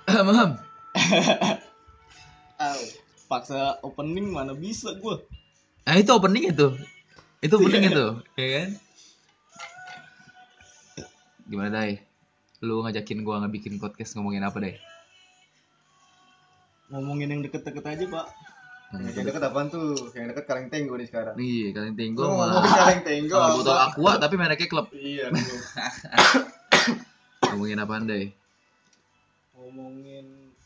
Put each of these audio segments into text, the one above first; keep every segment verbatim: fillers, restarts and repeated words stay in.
Maham. Au, paksa opening mana bisa gue. Nah itu opening itu. Itu opening itu, ya kan? Gimana Dai? Lu ngajakin gua ngebikin podcast ngomongin apa Dai? Ngomongin yang deket-deket aja pak. Yang deket apaan tuh? Yang deket Kaleng Tenggo nih sekarang. Nih, kalian tenggo Gua sama ngomongin Kaleng Tenggo sama apa? botol aqua tapi mereknya klub. Iya bro. Ngomongin apaan Dai? Ngomongin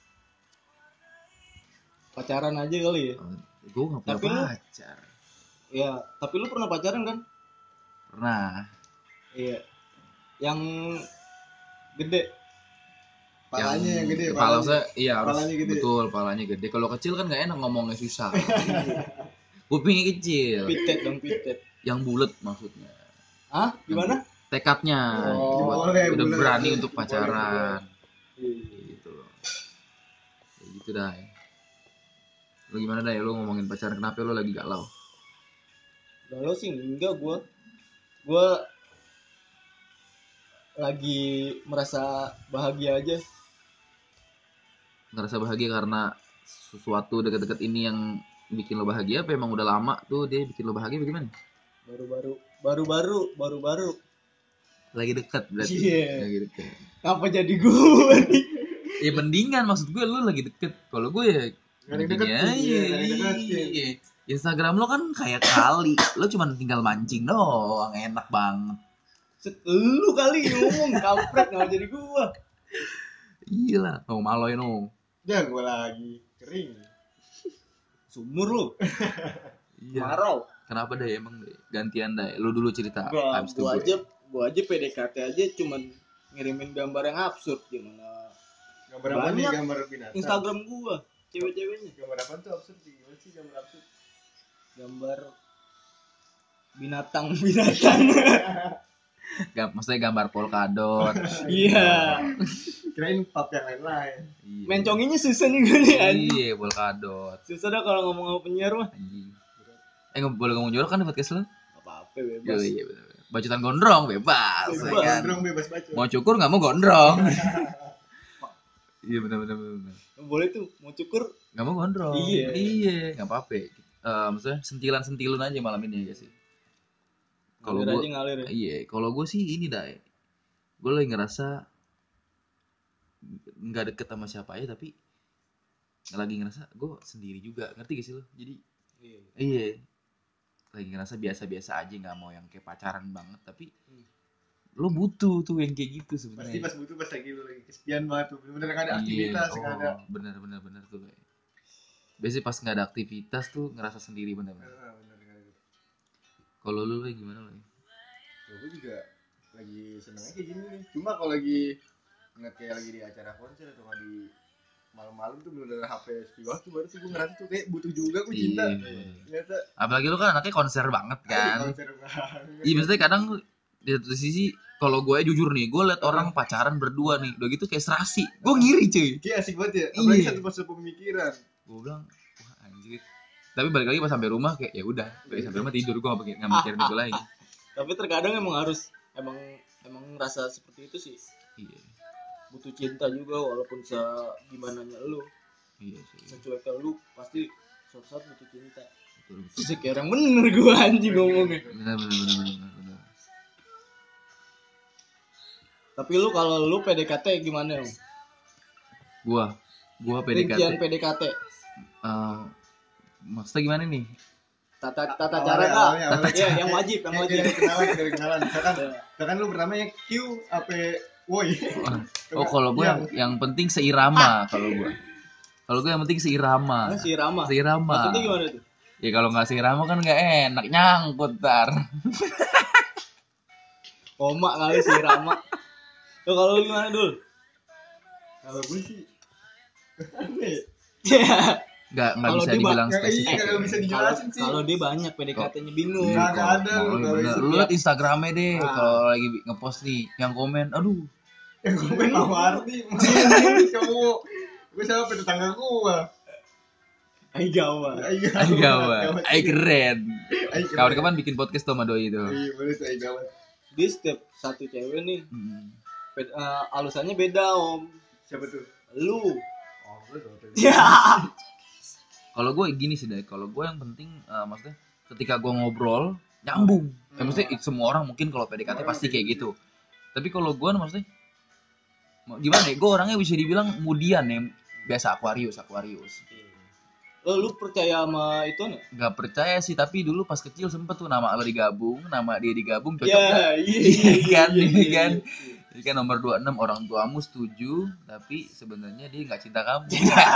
pacaran aja kali ya. Oh, gua nggak punya Tapi lu- pacar. Ya, tapi lu pernah pacaran kan? Pernah. Iya. Yang gede. Palanya yang gede. Kepala saya iya harus Palanya gede. betul, palanya gede. Kalau kecil kan nggak enak ngomongnya susah. Kupingnya kecil. Pitet dong pitet. Yang bulat maksudnya. Hah? Gimana? Tekadnya Oh, buat- boleh, udah boleh, berani boleh. untuk pacaran. Iya. Gitu loh. Kayak gitu dah. Lu gimana dah lu ngomongin pacaran, kenapa lu lagi galau? Galau sih enggak gua. Gua lagi merasa bahagia aja. Ngerasa bahagia karena sesuatu deket-deket ini yang bikin lo bahagia apa emang udah lama tuh dia bikin lo bahagia bagaimana? Baru-baru baru-baru baru-baru. Lagi deket berarti. Iya. Lagi deket. Apa jadi gua nih? Ya mendingan maksud gue lu lagi deket. Kalau gue ya Nggak ada yang gini deketin, aja. iya, nggak ada yang deketin. Iya. Instagram lo kan kayak kali, lo cuma tinggal mancing doang, enak banget. Set, lu kali ngomong kampret nggak jadi gua. Iya lah, oh maloin lo. Ya gua lagi kering. Sumur lu. Iya. Marau. Kenapa deh emang deh? Gantian deh. Lu dulu cerita. Gua, Habis itu gua gue. aja gua aja P D K T aja cuman ngirimin gambar yang absurd gimana. Gambar apa nih? Banyak. Gambar binatang. Instagram gua cewek-ceweknya Gambar apa tuh absurd? Gimana sih gambar absurd? gambar binatang-binatang. Gak, maksudnya gambar polkadot. Iya. Kirain pap yang lain-lain. Iya. Menconginnya susah nih gue nih anjing. Iya, polkadot. Susah dah kalau ngomong sama penyiar mah. Anjing. Eh nggak boleh ngomong jorok kan di podcast lu? Gak apa-apa bebas. Iya, iya benar. Bacotan gondrong bebas. Bebas. ya kan? Gondrong bebas baca. Mau cukur nggak mau gondrong. Iya benar benar benar. Boleh tuh mau cukur. Nggak mau gondrong. Iya. Iya, nggak apa-apa. Eh, maksudnya sentilan-sentilun aja malam ini ya sih. Kalau Ngalir gua aja ngalir ya. iya, kalau gue sih ini dah. Gue lagi ngerasa nggak deket sama siapa aja tapi lagi ngerasa gue sendiri juga. Ngerti gak sih lo? Jadi Iya. iya. Lagi ngerasa biasa-biasa aja, nggak mau yang kayak pacaran banget tapi Hmm. lo butuh tuh yang kayak gitu Pasti sebenarnya. pas butuh pas lagi lu lagi kesepian banget tuh. Bener-bener nggak ada Iya, aktivitas, oh, nggak ada. bener bener bener tuh. Lo. Biasanya pas nggak ada aktivitas tuh ngerasa sendiri bener-bener. Ah, bener nggak ada. Kalau lu lo gimana lo? Ya, gue juga lagi seneng aja gini nih. Cuma kalau lagi ngeliat kayak lagi di acara konser atau nggak di malam-malam tuh bener-bener H P sepi waktu baru sih gue ngerasa tuh kayak butuh juga gue cinta. Iya. Ternyata Apalagi lu kan anaknya konser banget kan? kan. Konser banget. Iya maksudnya kadang di satu sisi kalau gue jujur nih, gue liat orang pacaran berdua nih, udah gitu kayak serasi, gue ngiri cuy. Kayak asik banget ya. Apalagi Iya. satu pas pemikiran. Gue bilang, wah anjir. Tapi balik lagi pas sampai rumah kayak ya udah, balik sampai rumah tidur, gue nggak nggak mikirin itu lagi. Tapi terkadang emang harus emang emang rasa seperti itu sih. Iya, Butuh cinta juga walaupun se gimana lu. iya sih. Secuek ke lu pasti suatu saat butuh cinta. Betul, betul. Terus kayak orang bener gue anjing ngomongnya. Benar, benar, benar, benar, benar. Tapi lu kalau lu P D K T gimana om? Gua, gua P D K T. Rincian P D K T. Eh, maksudnya gimana nih? Tata tata Awalnya, cara awalnya, dah. awalnya. Iya, yang wajib, yang Kayak wajib. dari kenalan, dari kenalan. Misalkan, misalkan lu pertamanya Q apa woi. Oh, kalau gue yang, yang penting seirama kalau gue. Kalau gue yang penting seirama. Ah, si Rama. Seirama. Maksudnya gimana tuh? Ya kalau nggak seirama kan nggak enak, nyangkut tar. Koma kali si Rama. Tuh kalau lu gimana dul? Kalau gue sih Nggak nggak Kalau bisa dia dibilang nggak spesifik. iya, nggak bisa Kalau dijelasin sih. kalau dia banyak P D K T-nya bingung. Nggak ada, ada lu, Lu, kalau bener. isi Lu liat Instagramnya deh Ah. kalau lagi ngepost nih yang komen, aduh Yang komen mau arti, cowok. Gue sama tetangga gue. Ay gawat. Ayo ay gawat, ay keren. Ay, keren. Kawan-kawan bikin podcast tuh sama doi itu. Iya boleh tuh ay gawat. Dia setiap satu cewek nih Hmm. beda, uh, alusannya beda om. Siapa tuh? Lu. Oh, gue tuh. Ya. Kalau gue gini sih deh, kalau gue yang penting eh, maksudnya ketika gue ngobrol nyambung. Hmm. Ya, maksudnya it- semua orang mungkin kalau P D K T Semua orang pasti kayak kayak gitu. gitu. Tapi kalau gue maksudnya mau- gimana ya? Gue orangnya bisa dibilang mudian ya, biasa Aquarius, Aquarius. Lo lu percaya sama itu nih? Gak percaya sih, tapi dulu pas kecil sempet tuh nama lo digabung, nama dia digabung cocok Ya, gak? iya, Iya kan, iya, iya iya, kan. iya. Jadi kan nomor dua puluh enam orang tuamu setuju, tapi sebenarnya dia nggak cinta kamu.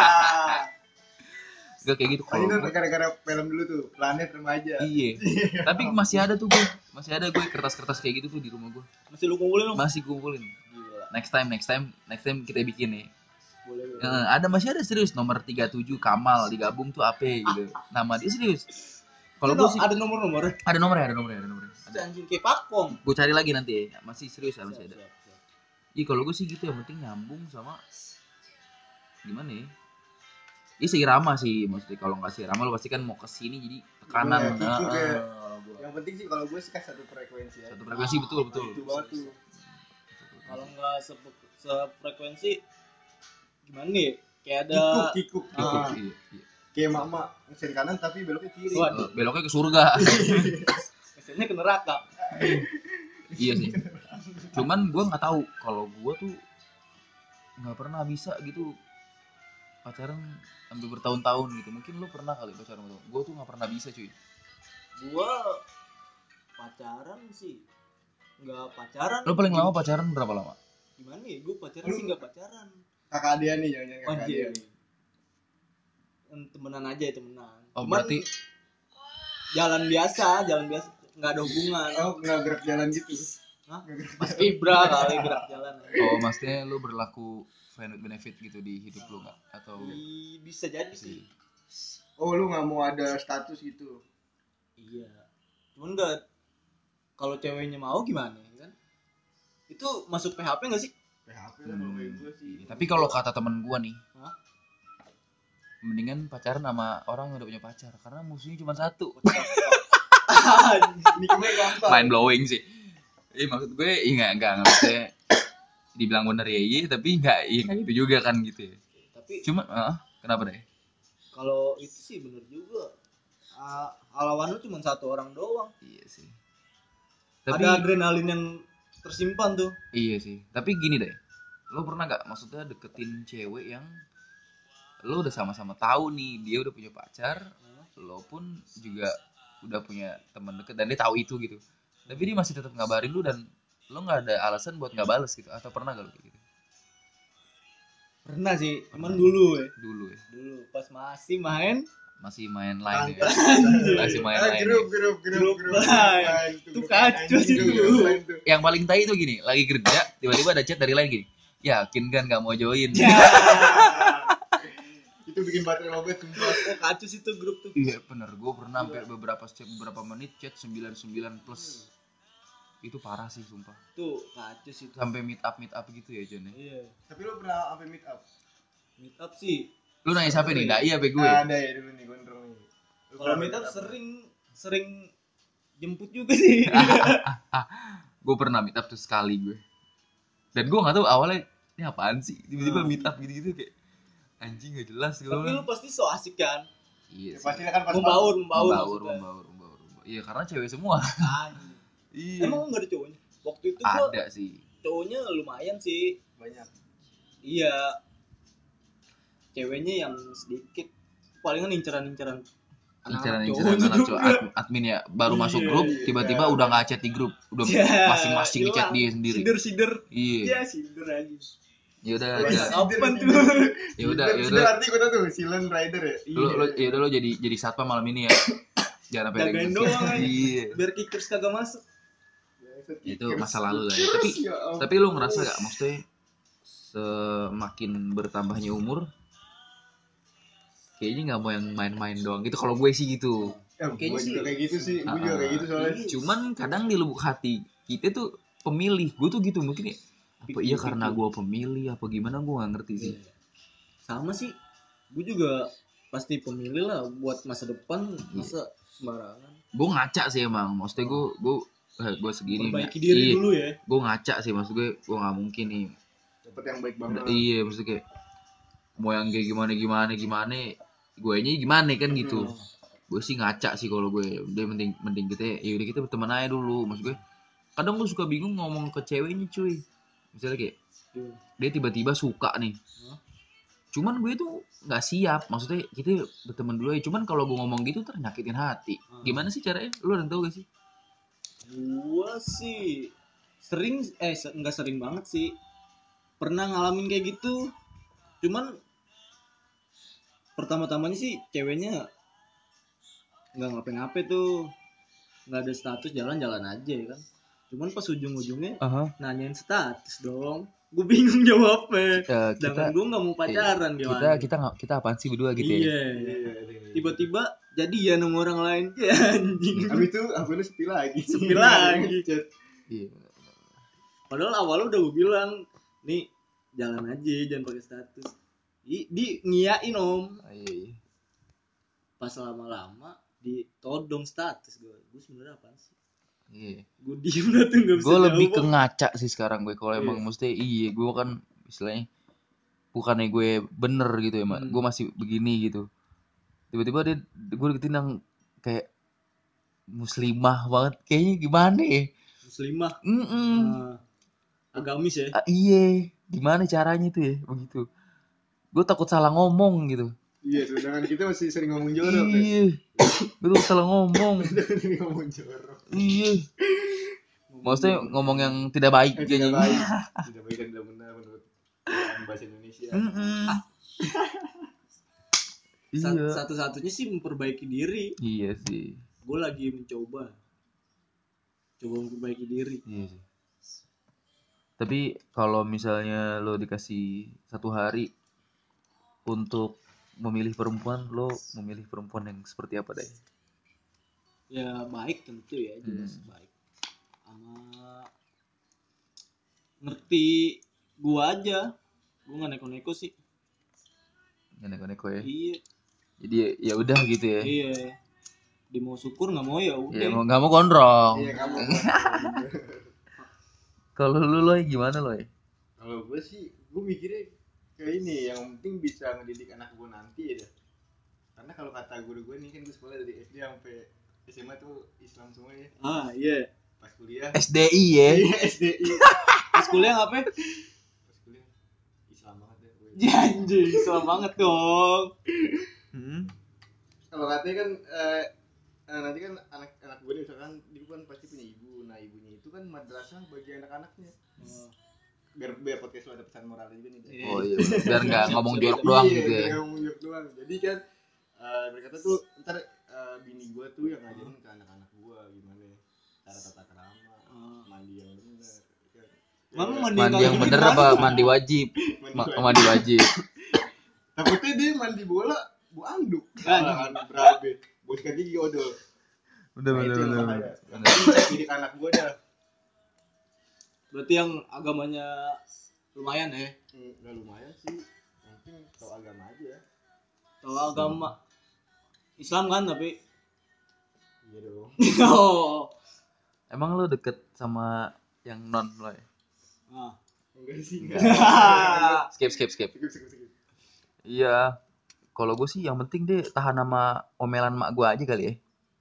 Gak kayak gitu Oh, kalau ini gue. gara-gara film dulu tuh, Planet Remaja. Iya. Tapi masih ada tuh gue, masih ada gue kertas-kertas kayak gitu tuh di rumah gue. Masih lu kumpulin lo? Masih kumpulin. Gila. Next time, next time, next time kita bikin nih. Boleh, boleh. Eh, ada masih ada serius nomor tiga puluh tujuh Kamal digabung tuh apa gitu. Nama dia serius. Kalau Itu gue no- sih ada nomor-nomornya. ada nomornya, ada nomornya, ada nomornya. Ada anjing kayak pakom. Gue cari lagi nanti ya. Masih serius ya, masih Siap, ada. siap, siap. Iya kalau gue sih gitu, yang penting nyambung sama gimana ya? Iya seirama sih, maksudnya kalau nggak seirama lo pasti kan mau kesini jadi tekanan. Bener, gitu Nah, kayak. ah, gua- Yang penting sih kalau gue sih kan satu frekuensi ya. satu frekuensi betul betul. Itu banget tuh. Kalau nggak se- sefrekuensi gimana nih? Kayak ada Kikuk, kikuk. Ikut, Ah. iya, iya. Kayak mama ngeser kanan tapi beloknya kiri. Wah. Eh, beloknya ke surga. biasanya ke neraka. Iya sih. Cuman gue nggak tahu kalau gue tuh nggak pernah bisa gitu pacaran sampai bertahun-tahun gitu. Mungkin lo pernah kali pacaran bertahun. Gue tuh nggak pernah bisa cuy. Gua pacaran sih nggak pacaran. Lo paling lama pacaran berapa lama? Gimana ya? Gue pacaran sih nggak pacaran. Kakak dia nih, jangan-jangan kakak Anjir. dia nih. Em, Temenan aja temenan. Oh Cuman berarti jalan biasa, jalan biasa, nggak ada hubungan. Oh, nggak gerak jalan gitu. Hah? Nggak gerak Mas Ibra kali gerak jalan. oh maksudnya lo berlaku friend with benefit gitu di hidup lo nggak? Atau I- bisa jadi sih. Oh, lu nggak mau ada status gitu. Iya. Cuman nggak, kalau ceweknya mau gimana ya kan? Itu masuk P H P nggak sih? P H P lah kalau kayak gue sih. Iya, tapi kalau kata temen gue nih, Hah? mendingan pacaran sama orang yang udah punya pacar karena musuhnya cuma satu. Ini kemarin gampang. Mind blowing sih. Iya maksud gue, iya nggak nggak nggak maksudnya dibilang bener ya iya, tapi nggak iya nggak gitu juga kan gitu ya. Tapi Cuma, ah, kenapa deh? kalau itu sih bener juga. Ah, lawan lu cuma satu orang doang. Iya sih. Tapi Ada adrenalin yang tersimpan tuh. iya sih. Tapi gini deh, lo pernah nggak maksudnya deketin cewek yang lo udah sama-sama tahu nih dia udah punya pacar, lo pun juga udah punya teman deket dan dia tahu itu gitu. Tapi dia masih tetap ngabarin lu dan lo nggak ada alasan buat nggak bales gitu. Atau pernah gak lo kayak gitu? Pernah sih, cuman Pernah. dulu ya. Dulu ya, Dulu pas masih main masih main line ya. Anjir. Masih main Ah, line. grup, Ya. grup, grup, Grup grup. lain. Lain tuh, Itu grup kacau anjing sih tuh, itu. grup lain tuh. Yang paling tai itu gini, lagi kerja tiba-tiba ada chat dari lain gini. Yakin kan gak mau join? Ya. Itu bikin baterai lobet sumpah. Oh kacau sih tuh grup tuh. Iya bener, gue pernah sampai beberapa chat beberapa menit chat sembilan puluh sembilan plus. Itu parah sih sumpah. Tuh kacau sih tuh. Sampai meet up meet up gitu ya John ya. Iya. Tapi lu pernah sampai meet up? Meet up sih. Lu nanya siapa nih? Dai apa gue? Ada ya dulu nih gondrong nih. Lu Kalau pernah meet up sering sering jemput juga sih. Gue pernah meet up tuh sekali gue. Dan gue nggak tahu awalnya ini apaan sih. Tiba-tiba Hmm. meet up gitu-gitu kayak anjing gak jelas gue. Tapi lu pasti so asik kan. Iya Ya, sih. pasti kan pas Membaur, membaur, Membaur, maksudnya. membaur, membaur, membaur. Iya karena cewek semua. Anjing. Iya. Emang enggak ada cowoknya? Waktu itu gua Ada sih. cowoknya lumayan sih. banyak. Iya. Ceweknya yang sedikit. Palingan inceran-inceran Inceran-inceran cowok anak juga. cowok ad- admin ya baru Iya, masuk grup iya. tiba-tiba udah nggak chat di grup udah Ya, masing-masing chat hilang. dia sendiri. Sider-sider. Iya. Iya, sider aja. Ya udah Wah, ya Apaan tuh? ya udah ya Sider udah arti gue tau tuh, silent rider ya. lu lu ya udah lu jadi jadi satpam malam ini ya. Jangan sampai ada Jagain gitu. doang aja. Iya. Biar kickers kagak masuk. Itu masa lalu lah ya. Tapi Ya ampun. tapi lu ngerasa gak maksudnya semakin bertambahnya umur kayaknya nggak mau yang main-main doang gitu kalau gue sih gitu. Ya, Kayaknya gue sih. juga kayak gitu sih, gue juga Ah, kayak gitu soalnya. Cuman kadang di lubuk hati kita tuh pemilih, gue tuh gitu mungkin ya apa iya karena gue pemilih apa gimana gue nggak ngerti sih. Sama sih. Gue juga pasti pemilih lah buat masa depan, masa sembarangan. Gue ngaca sih emang, maksudnya gue gue eh, gue segini Perbaiki diri iya, dulu ya. gue ngaca sih maksud gue gue nggak mungkin nih. Dapet yang baik Udah, banget. iya maksudnya kayak mau yang kayak gimana gimana gimana gue nya gimana kan gitu. Gue sih ngaca sih kalau gue, dia mending mending kita ya udah kita berteman aja dulu. Maksud gue kadang gue suka bingung ngomong ke ceweknya cuy, misalnya kayak dia tiba-tiba suka nih, cuman gue tuh nggak siap, maksudnya kita berteman dulu ya, cuman kalau gue ngomong gitu ternyakitin hati. Gimana sih caranya, lu ada tau gak sih? Gua sih sering eh se- nggak sering banget sih, pernah ngalamin kayak gitu. Cuman pertama-tamanya sih ceweknya nggak ngapain-ngapain tuh, nggak ada status, jalan-jalan aja ya kan. Cuman pas ujung-ujungnya Aha. nanyain status dong, gue bingung jawabnya. Ya, Sedangkan kita gue nggak mau pacaran kita gimana. kita nggak kita apaan sih berdua gitu ya? Iya. Tiba-tiba jadian sama orang lain, ya anjing. Habis itu akunnya sepi lagi. Sepi lagi. Iya. Padahal awalnya udah gue bilang, nih jalan aja, jangan pakai status. Di, di ngiyain om. Ah, iya, iya. Pas lama-lama ditodong status gue. Gue sebenarnya apaan sih? Iya. Gue diem dah tuh nggak bisa Gue lebih ke jawab. ngaca sih sekarang gue kalau Iya. emang mesti iya gue kan istilahnya bukannya gue bener gitu ya mak, Hmm. gue masih begini gitu. Tiba-tiba dia gue deketin yang kayak muslimah banget, kayaknya gimana ya? Muslimah. Mm-mm. Nah, agamis ya. Ah, iya, gimana caranya tuh ya begitu? Gue takut salah ngomong gitu. Iya, sedangkan kita masih sering ngomong jorok. Ya. Iya, gue tuh salah ngomong. Sering ngomong jorok. Iya, maksudnya ngomong yang tidak baik Eh, tidak kayaknya. baik. Tidak baik dan tidak benar menurut Quran bahasa Indonesia. Mm-mm. Sat- Iya. Satu-satunya sih memperbaiki diri. Iya sih. Gue lagi mencoba. Coba memperbaiki diri. Iya sih. Tapi kalau misalnya lo dikasih satu hari untuk memilih perempuan, lo memilih perempuan yang seperti apa deh? Ya baik tentu ya, jelas Hmm. baik. Sama ngerti gua aja. Gua nggak neko-neko sih. Yang neko-neko ya. Iya. Jadi ya udah gitu ya. Iya. Dia mau syukur nggak mau ya udah. Ya mau nggak mau gondrong. Iya, kamu. Kalau lu lo gimana lo? Kalau gue sih, gue mikirnya kayak ini, yang penting bisa ngedidik anak gue nanti ya. dah. Karena kalau kata guru gue nih kan gue sekolah dari S D sampai S M A tuh Islam semua ya. Ah iya. Pas kuliah, S D I ya. iya S D I. Pas kuliah ngapain? Pas kuliah Islam banget ya. gue. Ya anjing, Islam banget dong. Hmm. Kalau katanya kan eh, eh, nanti kan anak-anak gue nih misalkan dia kan pasti punya ibu. Nah ibunya itu kan madrasah bagi anak-anaknya. Oh. Biar biar podcast lo ada pesan moralnya juga nih. dah. Iya. Oh iya, bener. Biar nggak Siap, ngomong siap, jorok siap. doang Iya, gitu ya. biar nggak ngomong jorok doang. Jadi kan eh, mereka tuh ntar eh, bini gue tuh yang ngajarin ke anak-anak gue gimana cara tata krama, Oh. mandi yang benar. Kan. Mama Ya, mandi Mandi yang kagak bener gimana? apa mandi wajib? mandi Ma- wajib. mandi wajib. Takutnya dia mandi bola bu anduk. Kan. Salah kan berabe. Bos kaki gigi odol. Udah Nah, bener itu yang bener. bahaya. bener. Yang penting cek didik anak gue dah. Berarti yang agamanya lumayan ya. Hmm, Gak lumayan sih. Yang penting tau agama aja. Kalau agama Islam kan tapi Iya dong. oh. Emang lo deket sama yang non lo ya? Nah. Enggak sih enggak. Skip skip skip. Skip, skip, skip. Iya. Kalau gue sih yang penting deh tahan sama omelan mak gue aja kali ya.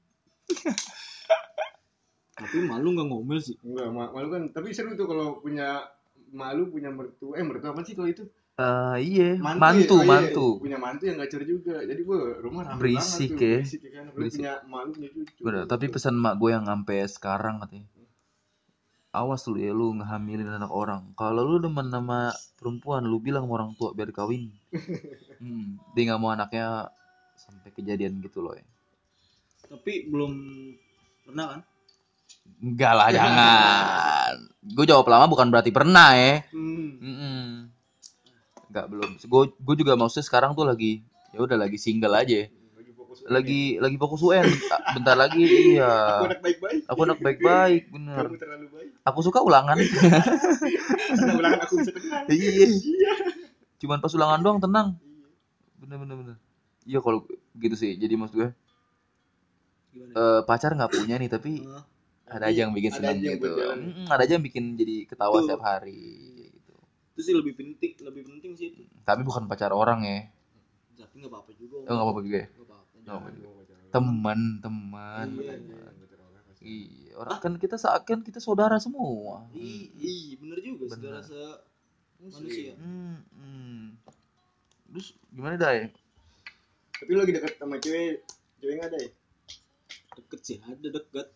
Tapi malu nggak ngomel sih. Enggak, ma- malu kan. Tapi seru tuh kalau punya malu punya mertua. Eh mertua apa sih kalau itu? Eh iya, Mantu, mantu, ya? Oh, iya, mantu. punya mantu yang gacor juga. Jadi gue rumah rame Berisik banget tuh. ya. Berisik ya kan. Apalagi Berisik. punya malu punya cucu. Bener, tapi pesan mak gue yang sampai sekarang katanya. Awas lu ya lu ngehamilin anak orang. Kalau lu demen sama perempuan, lu bilang sama orang tua biar kawin. Hmm, dia nggak mau anaknya sampai kejadian gitu loh ya. Tapi belum pernah kan? Enggak lah, jangan. Gue jawab lama bukan berarti pernah ya. Hmm. Mm-mm. Enggak belum. Gue gue juga maksudnya sekarang tuh lagi ya udah lagi single aja. Lagi fokus. Lagi lagi fokus U N. Bentar lagi iya. Aku anak baik-baik. Aku anak baik-baik, bener. Kamu terlalu baik. Aku suka ulangan. Karena ulangan aku bisa tenang. Iya. Cuman pas ulangan doang tenang. Bener bener bener. Iya kalau gitu sih. Jadi maksud gue Gimana? eh, pacar nggak punya nih tapi Ah. ada aja yang bikin Ada senang aja yang gitu. buat jalan. Mm, ada aja yang bikin jadi ketawa Tuh. setiap hari gitu. Itu sih lebih penting, lebih penting sih itu. Tapi bukan pacar orang ya. Tapi nggak apa-apa juga. Oh, nggak apa-apa juga ya. Nggak apa-apa. Nggak apa-apa juga. Gua pacaran. Teman, teman. Iya, teman. Pacar orang pasti. Iya, orang kan kita seakan kita saudara semua. Ih, ih, bener juga. Bener. Saudara se manusia. Hmm, hmm. Terus gimana Dai? Tapi lu lagi deket sama cewek, cewek nggak ada ya? Deket sih, ada deket.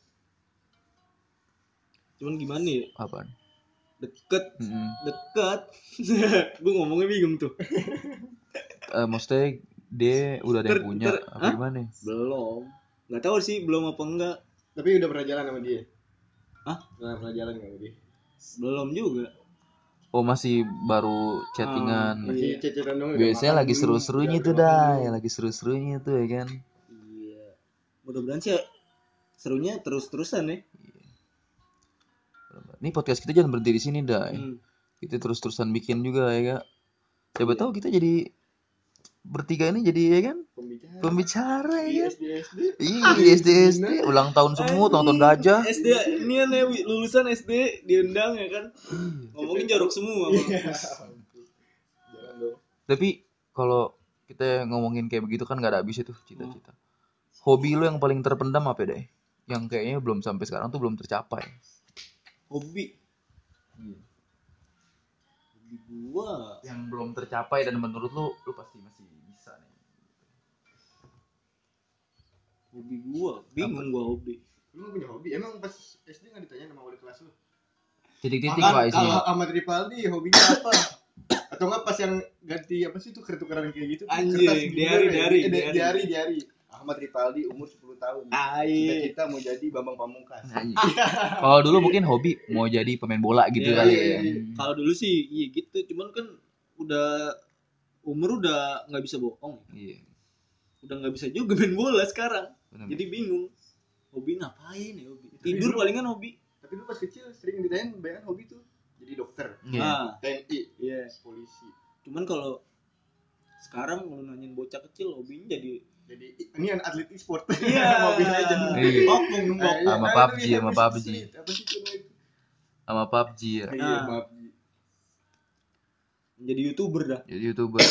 Cuman gimana ya? Apaan? Deket, Hmm. deket. Gue ngomongnya bingung tuh. Eh, maksudnya dia udah ada yang Ter- punya ter- apa Hah? gimana? Belum. Nggak tahu sih belum apa enggak. Tapi udah pernah jalan sama dia? Hah? Pernah pernah jalan nggak sama dia? Belum juga. Oh, masih baru chattingan. Ah, Masih Iya. cecetan dong. udah Biasanya makan lagi belum? seru-serunya Udah tuh makan dah, belum? ya lagi seru-serunya tuh ya kan. Iya. Mudah-mudahan sih serunya terus-terusan ya. Nih podcast kita jangan berhenti di sini dah. Hmm. Kita terus-terusan bikin juga ya kak. Siapa Iya. tahu kita jadi bertiga ini jadi ya kan Pembicara. pembicara Di ya kan. S D S D. Iya di S D S D ulang tahun semua, ulang tahun gajah. S D ini ya Wi, lulusan S D diundang ya kan. Ngomongin jorok semua. Bang. Iya. Jalan dong. Tapi kalau kita ngomongin kayak begitu kan nggak ada habisnya tuh cita-cita. Hobi lo yang paling terpendam apa deh? Yang kayaknya belum sampai sekarang tuh belum tercapai. Hobi. Hobi gua. Yang belum tercapai dan menurut lo, lo pasti masih bisa nih. Hobi gua. Bingung gua hobi. Lu nggak punya hobi? Emang pas S D nggak ditanya sama wali kelas lu? Titik-titik Makan, pak isinya. kalau Ahmad Ripaldi hobinya apa? Atau nggak pas yang ganti apa sih itu kertukeran kayak gitu? Anjing, Kertas diari, gimana ya? diari, Eh, di- diari. diari, diari. Ahmad Ripaldi umur sepuluh tahun. Ai. Cita-cita mau jadi Bambang Pamungkas. Anjing. Kalau dulu mungkin hobi mau jadi pemain bola gitu Iya, kali iya, ya. iya. Kalau dulu sih iya gitu, cuman kan udah umur udah nggak bisa bohong. Iya. Udah nggak bisa juga main bola sekarang. Benar. Jadi bingung. Hobi ngapain ya hobi? Tidur palingan hobi. Tapi lu pas kecil sering ditanya banyak hobi tuh. Jadi dokter, Iya. Ah, T N I, iya. polisi. Cuman kalau sekarang kalau nanyain bocah kecil hobinya jadi Jadi ini kan atlet e-sport. Iya. Mobile Legends. Iya. oknum numpuk. Eh, iya, Sama kan P U B G, itu sama Rainbow P U B G. Six Siege. Apa sih itu namanya? Sama P U B G ya. Iya, Nah. P U B G. Jadi YouTuber dah. Jadi YouTuber.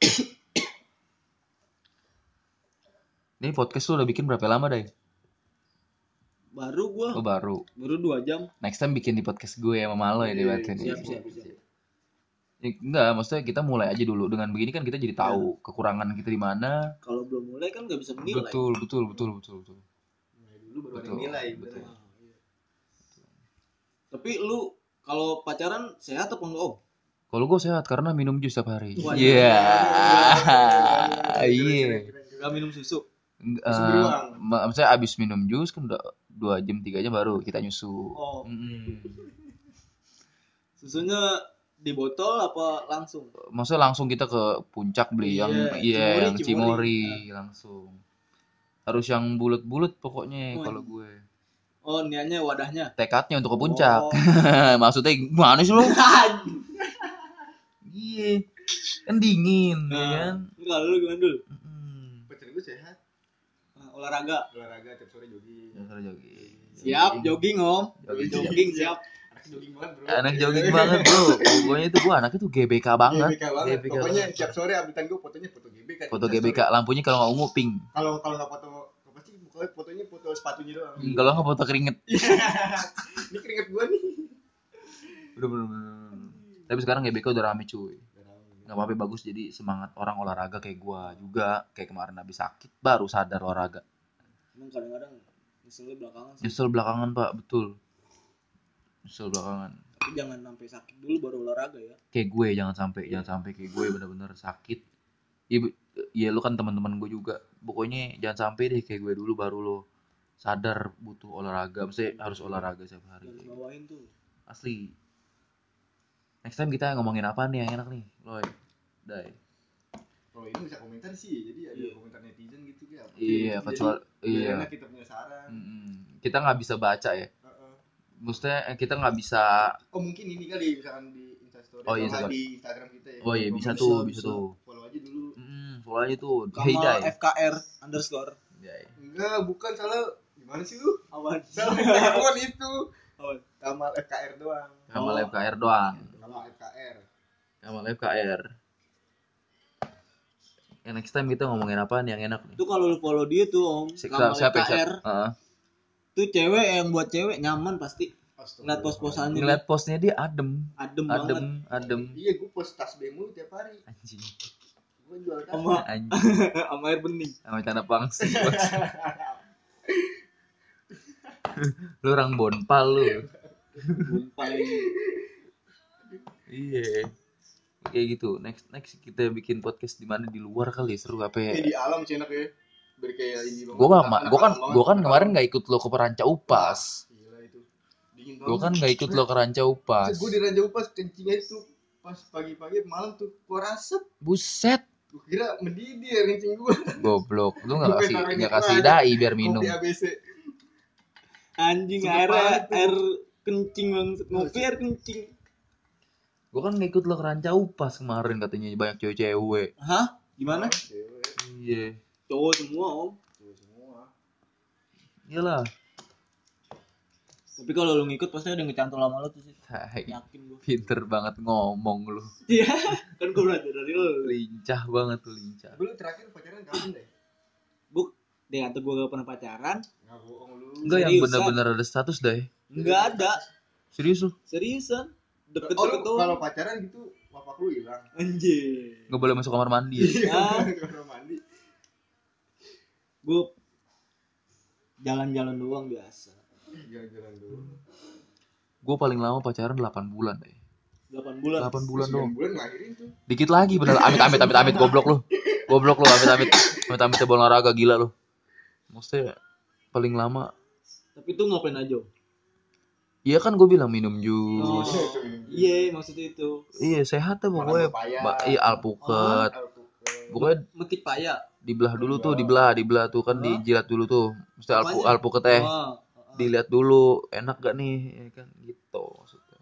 Ini podcast lu udah bikin berapa lama, Dai? Baru gua Oh, baru. baru dua jam. Next time bikin di podcast gue sama Malo ya, Iya, dibatin. Siap, siap, siap. Ya, enggak, maksudnya kita mulai aja dulu. Dengan begini kan kita jadi tahu kekurangan kita di mana. Kalau belum mulai kan nggak bisa menilai. Betul, betul, betul, betul, betul. Mulai dulu baru ada Betul, nilai. betul. bener. Ah, iya. Tapi lu kalau pacaran sehat apa enggak om? Kalau gue sehat karena minum jus setiap hari. Wah, Iya. Keren, Iya. keren, keren, keren. Gak minum susu. Eng- Susu eh, beruang. ma- Maksudnya abis minum jus kan udah dua jam tiga jam baru kita nyusu. Oh. Mm-mm. Susunya di botol apa langsung? Maksudnya langsung kita ke puncak beli yang Iya, iya Cimori, yang Cimori. cimori langsung. Harus yang bulat-bulat pokoknya Oh, kalau gue. Oh niatnya wadahnya. Tekadnya untuk ke puncak. Oh. Maksudnya gimana sih lu? Iya. Kan dingin ya kan. Nah, kalau lu gimana dulu? Mm-mm. Pacar gue sehat, Nah, olahraga. olahraga tiap sore jogging. Ya, suruh jogging. Siap, jogging om. Jogging. Jogging siap. Anak jogging banget bro. Anak jogging banget bro. Pokoknya itu gua anaknya tuh G B K banget. G B K banget. G B K Pokoknya banget. tiap sore updatean gue fotonya foto G B K. Foto G B K, lampunya kalau nggak ungu pink. Kalau kalau nggak foto apa sih? Pokoknya fotonya foto sepatunya doang. Hmm, Kalau nggak foto keringet. Ini keringet gue nih. Bener bener. bener. Tapi sekarang G B K udah rame cuy. Nggak apa-apa bagus jadi semangat orang olahraga kayak gua juga. Kayak kemarin habis sakit baru sadar olahraga. Emang kadang-kadang nyeselnya belakangan sih. Nyesel belakangan pak, betul. Nyesel belakangan. Tapi jangan sampai sakit dulu baru olahraga ya. Kayak gue jangan sampai jangan sampai kayak gue bener-bener sakit. Iya, bu- iya lu kan teman-teman gue juga. Pokoknya jangan sampai deh kayak gue dulu baru lo sadar butuh olahraga. Maksudnya harus olahraga setiap hari. Jangan bawain tuh. Asli. Next time kita ngomongin apa nih yang enak nih, Loy? Dai. Kalau ini bisa komentar sih, jadi ada Iya. komentar netizen gitu ya. Iya, Jadi, kecuali biar iya. enak kita punya saran. Mm-mm. Kita nggak bisa baca ya. Heeh. Maksudnya eh, kita nggak bisa. Oh mungkin ini kali misalkan di Instastory Oh, iya, atau nggak Instagram. di Instagram kita ya. Oh iya Kalau bisa bisa, tuh, bisa, bisa bisa. tuh. Follow aja dulu. Mm, follow aja tuh. Hey Kamal Dai. F K R underscore. Dai. Enggak, bukan salah. Gimana sih lu? Awan. Salah Instagram itu. Awan. Kamal F K R doang. Kamal Oh. F K R doang. Kamal F K R. Sama F K R. Ya, next time kita ngomongin apaan yang enak nih? Itu kalau lu follow dia tuh Om, Si- Kamal siapa ya, K R. siapa? Heeh. Tuh cewek yang buat cewek nyaman pasti. Ngeliat pos-posannya Ngeliat postnya dia adem, adem, adem, banget. adem. Iya, gue post tas B M U tiap hari. Anjing, Gue jual tas. Sama anjing, sama air bening. sama cana pangsi. Lu orang bonpal lu. Paling Iya. Kayak gitu. Next next kita bikin podcast di mana di luar kali ya, seru apa ya? Kayak di alam sih enak ya. Biar kayak ini banget. Gua gak, Anak gua kan, alam banget. gua kan kemarin nggak ikut lo ke Peranca Upas. Gila itu. Dingin banget. Gua kan nggak ikut lo ke Ranca Upas. Gue di Raja Upas kencingnya itu pas pagi-pagi malam tuh keluar asap. Buset, Gue kira mendidih air kencing gue. goblok. Lu nggak Gua kasih taruh nggak di kasih keran. dai biar minum. Kopi A B C. anjing Sumpah air banget tuh. air kencing banget. Ngopi air kencing. Gua kan nggak ikut lo ke Ranca Upas kemarin katanya banyak cewek-cewek. Hah? Gimana? Cewek. Iya. Cowok semua Om. Cewek semua. Iyalah. Tapi kalau lu ngikut pasti ada yang ngecantol sama lu tuh sih. Hai, Yakin gua. pinter banget ngomong lu. Iya, kan gua belajar dari lu. Lincah banget tuh, lincah. Lu terakhir pacaran kapan deh? Bu, dia kata gua gak pernah pacaran. Nggak bohong lu. Enggak yang Seriusan? bener-bener ada status deh. Enggak ada. Serius lu? Seriusan. Oh, Deket-deket lu doang. kalau pacaran gitu bapak lu hilang. Anjir. Nggak boleh masuk kamar mandi ya? Ah. Kamar mandi. Gua jalan-jalan doang biasa. Jalan-jalan dulu. Gue paling lama pacaran delapan bulan deh. delapan bulan. delapan bulan dong. sembilan bulan ngelahirin tuh. Dikit lagi bener. Amit amit amit amit goblok lu. Goblok lu amit amit. Amit amit bola olahraga gila lu. Maksudnya paling lama. Tapi tuh ngapain aja? Iya kan gue bilang minum jus. Oh, iya maksudnya itu. Iya sehat tuh pokoknya. Makan papaya. Ba- iya alpukat. Pokoknya Metik paya. dibelah dulu tuh, dibelah, dibelah tuh kan Hah? dijilat dulu tuh. Mesti alpu Apanya? alpukat teh. Oh, Dilihat dulu enak gak nih ya kan gitu maksudnya.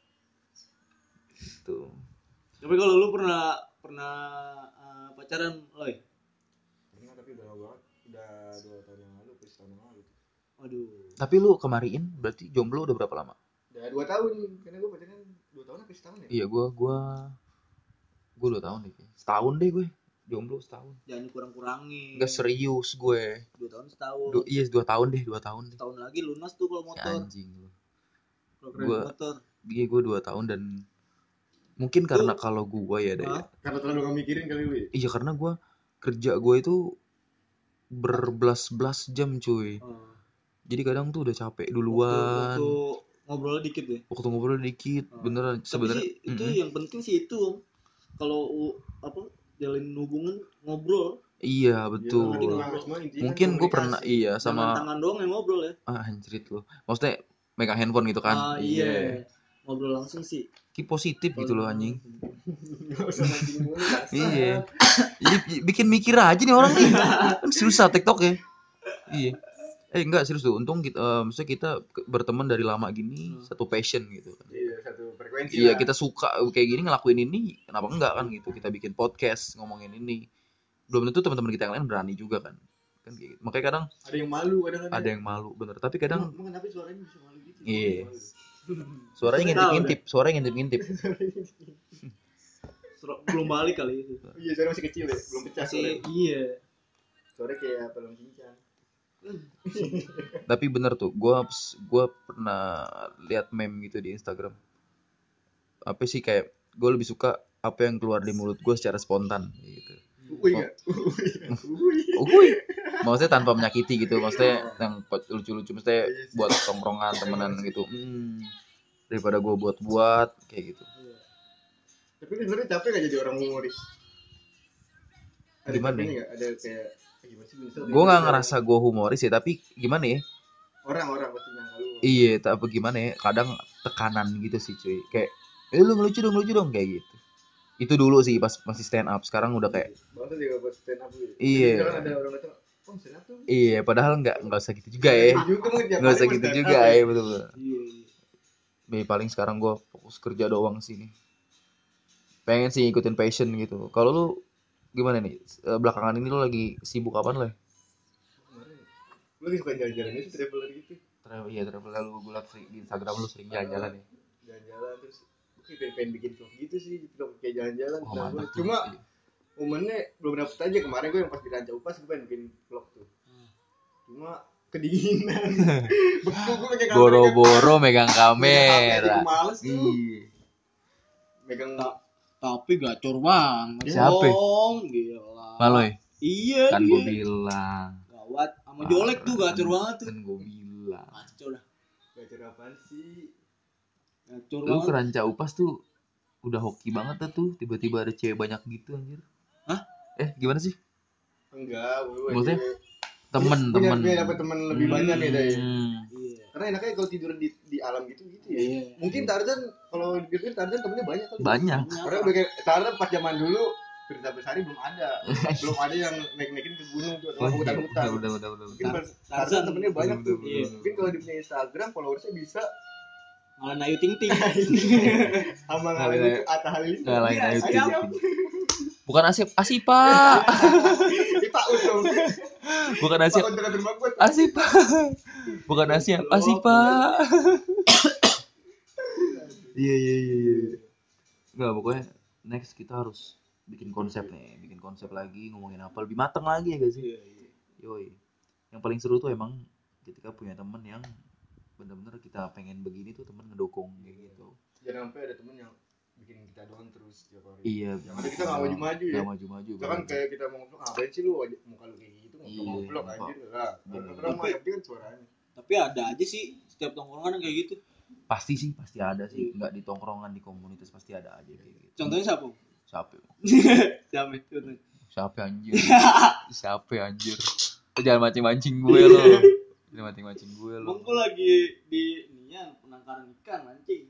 Gitu. tapi kalau lu pernah pernah uh, pacaran, Loy? Pernah tapi udah lama banget. Udah dua tahun yang lalu, plus tahun yang lalu. Aduh. Tapi lu kemarin berarti jomblo udah berapa lama? Udah dua tahun. Karena gue pacaran dua tahun apa setahun ya? Iya gue gue gue dua tahun deh, kayaknya. Setahun deh gue jomblo setahun. Jangan kurang-kurangin. Enggak serius gue. Dua tahun setahun. Du- iya dua tahun deh dua tahun deh. Setahun lagi lunas tuh kalau Ya, motor. anjing lu. Kalau kredit Gua- motor. Iya gue dua tahun dan mungkin karena kalau gue ya deh. Hah? Karena terlalu gak mikirin kali lu ya? Iya karena gue kerja gue itu berbelas-belas jam cuy. Oh. Jadi kadang tuh udah capek Waktu, duluan. waktu ngobrol dikit deh. Waktu ngobrol dikit, Oh. beneran Tapi sebenarnya. sih, itu Mm-mm. yang penting sih itu Om. Kalau u- apa jalin hubungan ngobrol. Iya betul. Jadi Iya, ngobrol. cuma intinya Mungkin kan gue pernah komunikasi. iya Jangan sama tangan doang yang ngobrol ya. ah anjrit lu. Maksudnya megang handphone gitu kan. Ah, iya. Ngobrol langsung sih. Ki positif gitu loh anjing. Nggak usah mancing mulu. kasar. Iya. Jadi bikin mikir aja nih orang nih. Kan susah TikTok ya. Iya. Eh enggak serius tuh. Untung kita eh, maksudnya kita ke- berteman dari lama gini Hmm. satu passion gitu kan. Iya, satu frekuensi Iya, lah. kita suka kayak gini ngelakuin ini, kenapa enggak kan gitu. Kita bikin podcast ngomongin ini. Belum tentu teman-teman kita yang lain berani juga kan. Kan kayak gitu. Makanya kadang Ada yang malu kadang-kadang. ada yang malu bener, tapi kadang Emang kenapa suaranya bisa malu gitu? Iya. Malu. suaranya Tahu ngintip-ngintip, suaranya ngintip-ngintip. Sur- belum balik kali itu. Iya, suara masih kecil ya, belum pecah Masih suaranya. iya. Suaranya kayak pelem cincang. Tapi bener tuh, gua gua pernah lihat meme gitu di Instagram. Apa sih kayak gue lebih suka apa yang keluar di mulut gue secara spontan gitu. Uy enggak? Uy. Uhuy. Maksudnya tanpa menyakiti gitu, maksudnya yang lucu-lucu, maksudnya buat tongkrongan temenan gitu. Hmm, daripada gue buat-buat kayak gitu. Iya. Tapi lu sebenarnya capek gak jadi orang humoris? Ada Gimana capeknya ya? nggak? Ada kayak eh, gimana sih bisa? Gue nggak ngerasa gue humoris ya, tapi gimana ya? Orang-orang pasti nyangka lu. Iya, tapi gimana ya? Kadang tekanan gitu sih cuy. Kayak, eh lu ngelucu dong, ngelucu dong kayak gitu. Itu dulu sih pas masih stand up. Sekarang udah kayak, Bahasa juga buat stand up gitu. Iya. Jadi misalkan ada orang datang, oh stand up tuh. iya. Padahal nggak nggak usah gitu juga ya. Gitu juga mungkin tiap Nggak hari usah mau gitu stand juga up, ya, betul betul. Iya, iya. Be, paling sekarang gue fokus kerja doang sini. Pengen sih ngikutin passion gitu. Kalau lu gimana nih? Eh, Belakangan ini lu lagi sibuk apaan lah? Kemarin, lu lagi suka jalan-jalan itu traveler gitu. Travel iya travel lalu gue liat sering- di Instagram lu sering jalan-jalan ya. Jalan-jalan terus kayak pengen bikin vlog gitu sih, vlog kayak jalan-jalan. Oh, Nah, mantap gua- tuh. cuma Iya. momennya belum dapet aja. Kemarin gue yang pas di Ranca Upas gue pengen bikin vlog tuh, cuma kedinginan. Betul gue pakai kamera. Boro-boro megang Megang H P aja kamera. gue males tuh. Iya. Megang Ta- tapi gacor banget. Siapa? Dong, gila. Maloy. Iya, Kan dia. gue bilang. Gawat. Sama Jolek tuh gacor Kan- banget tuh. Kan gue bilang. Gacor dah. gacor apaan sih? Gacor Lu banget. ke Ranca Upas tuh udah hoki banget dah tuh, tiba-tiba ada cewek banyak gitu anjir. Hah? Eh, gimana sih? Enggak, gue Maksudnya? punya- Temen-temen. punya dapet temen lebih banyak ya Day. Hmm. Iya. Karena enaknya kalau tidur di di alam gitu gitu ya. Iya. Mungkin Tarzan kalau dipikir Tarzan temennya banyak kali. Banyak. Karena udah kayak Tarzan pas zaman dulu Firza Besari belum ada. belum ada yang naik-naikin ke gunung tuh atau Oh, ke iya. hutan-hutan. Udah, udah, udah, Mungkin udah. pas Tarzan temennya banyak Bener, tuh. bener, bener. Mungkin kalau di punya Instagram followersnya bisa Malah Ayu Ting Ting. sama Ngalahin ngalahin Ayu- itu Atta Halilintar. Ngalahin Iya, Ayu Ting siap. Ting. Bukan Asip, Asip Pak. Ini Pak Untung. Bukan Pak Asip, Untung rumah gue. Asip Pak. Bukan Asip, Asip Pak. Iya, iya, iya, iya. Enggak, pokoknya next kita harus bikin konsep nih, bikin konsep lagi, ngomongin apa lebih mateng lagi ya guys sih. Iya, iya. Yoi. Yang paling seru tuh emang ketika punya temen yang bener-bener kita pengen begini tuh temen ngedukung kayak gitu. Jangan sampai ada temen yang bikin kita doang terus tiap hari. Iya. Yang ada kita nggak maju-maju ya. Nggak maju-maju. Misalkan banget. kayak kita mau ngevlog, ngapain sih lu wajah- muka lu kayak gitu, Iya, ngevlog Pak. anjir lah. Bener. Orang mah yang penting kan suaranya. Tapi ada aja sih setiap tongkrongan yang kayak gitu. Pasti sih, pasti ada sih. Nggak di tongkrongan, di komunitas pasti ada aja kayak gitu. Contohnya siapa? Siapa? Siapa? Contohnya. Siapa anjir? Siapa anjir? Lu jangan mancing-mancing gue lo. Jangan mancing-mancing gue lo. Emang gue lagi di ininya penangkaran ikan mancing.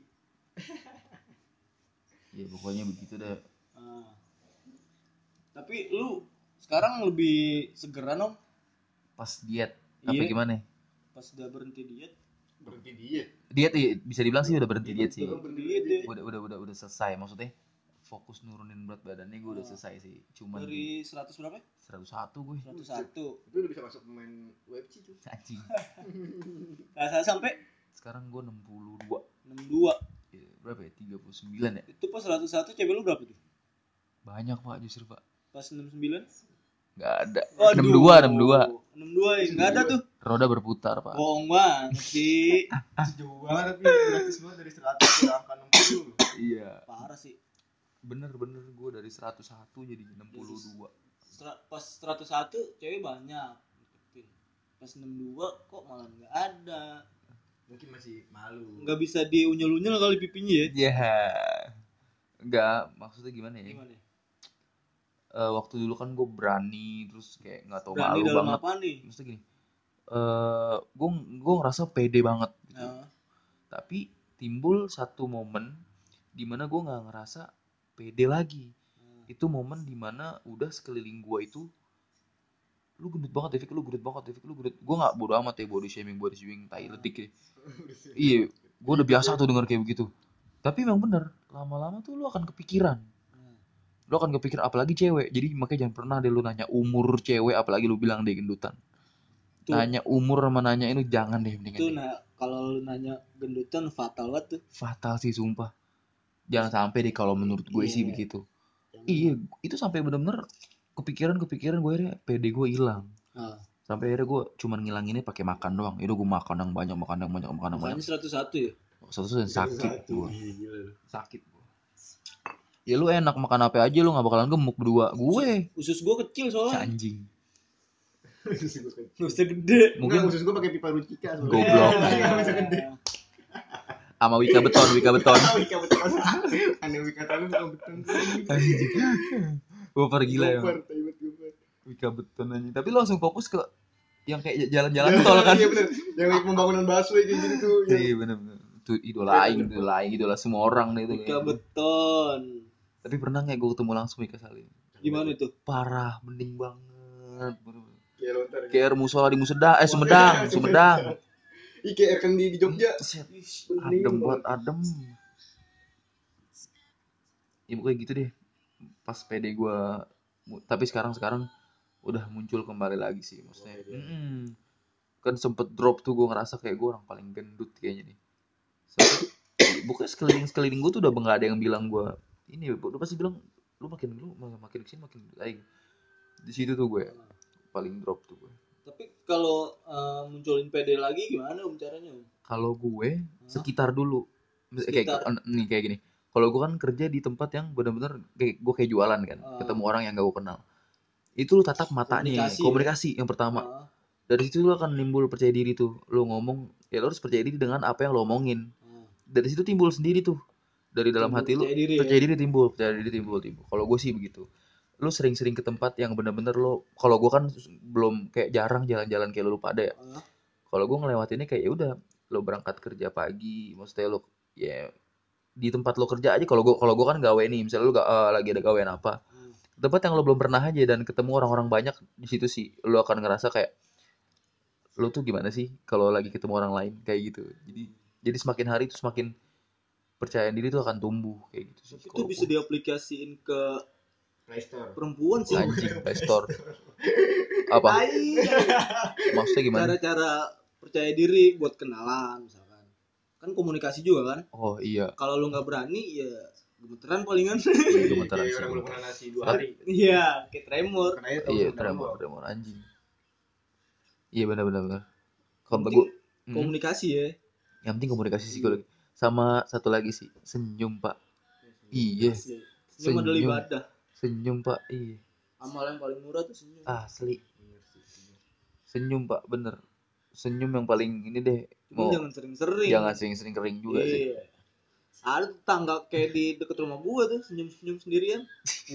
Ya pokoknya begitu deh. Ah. Tapi lu sekarang lebih segeran om Pas diet. Apa Iya. gimana? pas udah berhenti diet. Berhenti diet. Diet iya, bisa dibilang sih udah berhenti diet sih. Betul, berhenti Diet diet. ya. Udah udah udah udah selesai, maksudnya fokus nurunin berat badannya gue udah selesai sih. Cuman Dari seratus berapa? seratus satu gue. seratus satu. Itu udah bisa masuk pemain W F C tuh. Anjing. Rasa sampai Sekarang gue enam puluh dua. enam puluh dua. Ya, berapa ya? tiga puluh sembilan ya? Itu pas seratus satu cewek lu berapa tuh? Banyak Pak justru Pak. Pas enam puluh sembilan? Enggak ada. Waduh. enam puluh dua, enam puluh dua. enam puluh dua ya, enggak ada tuh. Roda berputar Pak. Bohong banget sih. Jauh banget tapi gratis banget dari seratus ke angka enam puluh. Iya. Parah sih. Bener-bener gue dari seratus satu jadi enam puluh dua. Sera- Pas seratus satu cewek banyak. Pas enam puluh dua kok malah enggak ada. Mungkin masih malu. Enggak bisa diunyel-unyel kali pipinya ya. Ya. Enggak, maksudnya gimana ya? Gimana? Eh, waktu dulu kan gue berani terus kayak nggak tahu Berani malu dalam banget. apa nih? Maksudnya gini. Eh, gue gue ngerasa pede banget gitu. Nah, Tapi timbul satu momen di mana gue nggak ngerasa pede lagi. nah. Itu momen di mana udah sekeliling gue itu lu gendut banget Devik, lu gendut banget Devik, lu gendut. Gue nggak bodo amat ya body shaming body shaming tai letik ya. Iya, gue udah biasa tuh denger kayak begitu. Tapi memang bener, lama-lama tuh lu akan kepikiran. Nah. Lu akan kepikiran apalagi cewek. Jadi makanya jangan pernah deh lu nanya umur cewek apalagi lu bilang dia gendutan. Tuh. Nanya umur sama nanya itu jangan deh mendingan. Itu deh. nah kalau lu nanya gendutan fatal banget tuh. Fatal sih sumpah. Jangan sampai deh kalau menurut gue sih Iya. begitu. Iya, itu sampai bener-bener kepikiran-kepikiran gue akhirnya pede gue hilang. Nah, Sampai akhirnya gue cuman ngilanginnya pakai makan doang. Itu gue makan yang banyak, makan yang banyak, makan yang banyak. makanya seratus satu ya. Satu yang sakit gue. Gila. Sakit gue. Ya lu enak makan apa aja lu nggak bakalan gemuk berdua. Gue Usus gua kecil soalnya. anjing. Usah gede. Mungkin Mungkin khusus gue pakai pipa Rucika soalnya. Goblok. Iya, bisa gede. sama Wika Beton, Wika Beton. Wika beton. Aneh Wika tahu bukan beton. Gue pergi lah ya. Gopar, taibat gopar. Wika Beton aja. Tapi lu langsung fokus ke yang kayak jalan-jalan tol kan. Iya bener. Yang lagi pembangunan busway kayak gitu tuh. yang- Iya bener-bener. Itu idola aing, idola aing, idola semua orang deh itu. Buka beton. Tapi pernah nggak gue ketemu langsung Wika Salim? Gimana itu? Parah, mending banget. Bener-bener. Kayak lontar. Kayak air musola di Museda, eh Sumedang, Sumedang. Ih kayak air kendi di Jogja. Set, Bening adem buat banget. adem. Ya pokoknya gitu deh. Pas pede gue, tapi sekarang sekarang udah muncul kembali lagi sih maksudnya. Mm-mm. Kan sempet drop tuh gue ngerasa kayak gue orang paling gendut kayaknya nih. Sempet, bukan sekeliling sekeliling gue tuh udah nggak ada yang bilang gue ini, udah pasti bilang lu makin lu makin kesini makin baik. Di situ tuh gue paling drop tuh gue. Tapi kalau uh, munculin P D lagi gimana Om caranya Om? Kalau gue sekitar dulu Sekitar. kayak nih kayak gini. Kalau gue kan kerja di tempat yang benar-benar kayak gue kayak jualan kan, Uh. ketemu orang yang gak gue kenal. Itu lu tatap matanya, Komunikasi, komunikasi, ya? yang pertama. Uh. Dari situ lu akan nimbul percaya diri tuh. Lu ngomong, ya lu harus percaya diri dengan apa yang lu omongin. Uh. Dari situ timbul sendiri tuh. Dari dalam Timbul hati lu percaya diri, percaya ya? diri timbul, percaya diri timbul timbul. Kalau gue sih begitu. Lu sering-sering ke tempat yang benar-benar lo, kalau gue kan belum kayak jarang jalan-jalan kayak lu pada ya. Uh. Kalau gue ngelewatinnya kayak ya udah, lo berangkat kerja pagi, maksudnya lo ya di tempat lo kerja aja. Kalau gue kalau gue kan gawe nih, misalnya lo gak, uh, lagi ada gawean apa, Uh. tempat yang lo belum pernah aja dan ketemu orang-orang banyak di situ sih, lo akan ngerasa kayak lo tuh gimana sih kalau lagi ketemu orang lain kayak gitu. Jadi jadi semakin hari tuh semakin percaya diri tuh akan tumbuh kayak gitu sih. Tapi itu bisa diaplikasiin ke Playstore. perempuan sih. Anjing, Playstore. Apa? Tai. Maksudnya gimana? Cara-cara percaya diri buat kenalan misalkan. Kan komunikasi juga kan? Oh iya. Kalau lu nggak berani ya gemeteran palingan. Iya, gemeteran Kayak sih. orang belum pernah nasi dua Tapi- hari. Iya, kayak tremor. Karena itu Iya, tahu tremor, semua. tremor anjing. Iya benar-benar benar. Kalau Penting gue hmm, komunikasi ya. yang penting komunikasi psikologi. Sama satu lagi sih, senyum, Pak. Iya, Asli. Senyum adalah Senyum. ibadah. senyum, Pak. Iya. Amal yang paling murah tuh senyum. Asli. Senyum, Pak, bener. Senyum yang paling ini deh. Cuma Mau jangan sering-sering. jangan sering-sering kering juga sih. Iya. Ada tetangga kayak di deket rumah gua tuh senyum-senyum sendirian.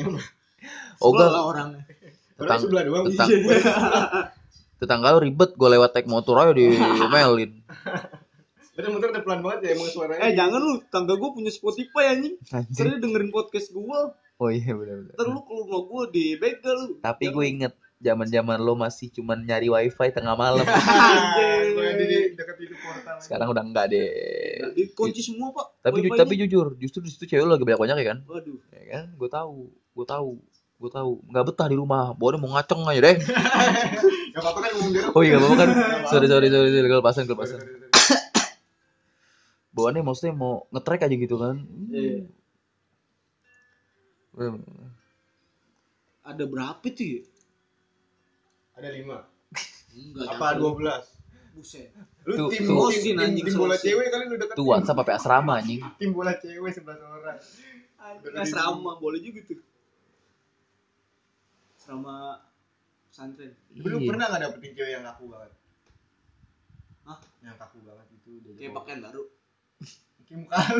Oh, Sebel enggak. lah orangnya. Orang Tetang- sebelah doang. tetang- Iya. Tetangga lu ribet, gue lewat naik motor aja diomelin. Bener motor udah pelan banget ya emang suaranya. Eh jangan lu, tangga gua punya Spotify anjing. Anjing. Sering dengerin podcast gua. Oh iya benar-benar. Ntar lu ke rumah gua di begal. Tapi gue inget zaman-zaman lo masih cuman nyari wifi tengah malam. Anjing. Gue di dekat itu portal. Sekarang udah enggak deh. Dikunci semua pak. Tapi ju- Wifi-nya. tapi jujur, justru di situ cewek lo lagi banyak banyak ya kan? Waduh. Ya kan? Gue tahu, gue tahu, gue tahu. Nggak betah di rumah. Bawaannya mau ngaceng aja deh. Gak apa-apa kan ngomong dia. Oh iya nggak apa-apa kan? Sorry sorry sorry, sorry. Kelepasan kelepasan. Bawaannya maksudnya mau nge-track aja gitu kan? Iya. Hmm. Ada berapa tuh ya? Ada lima. Enggak. Apa dua belas? Buset. Lu Tuh, tim, tuh. tim, tim, Anjing, tim bola selosin. cewek kali lu deket. Tuh WhatsApp apa asrama anjing? Tim bola cewek sebelas orang. Anjing asrama boleh juga tuh. Asrama pesantren. Tapi lu Iya. pernah gak dapetin cewek yang kaku banget? Hah? Yang kaku banget itu udah Kayak pakaian baru. Kayak muka lu.